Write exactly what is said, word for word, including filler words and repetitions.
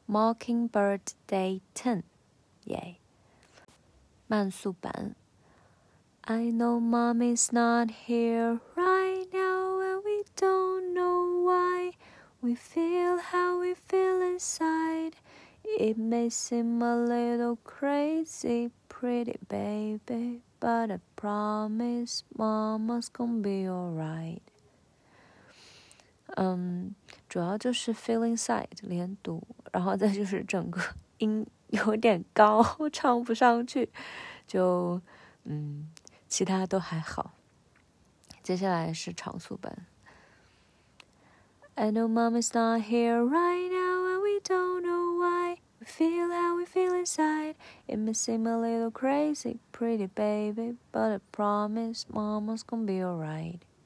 Mockingbird Day ten， 耶！慢速版。I know mommy's not here right now and we don't know why we feel how we feel inside. It may seem a little crazy, pretty baby, but I promise mama's gonna be alright. 嗯，主要就是 feel inside 连读，然后再就是整个音有点高，唱不上去，就嗯。其他都还好。接下来是长速版。I know mommy's not here right now and we don't know why. We feel how we feel inside. It may seem a little crazy, pretty baby, but I promise mama's gonna be alright.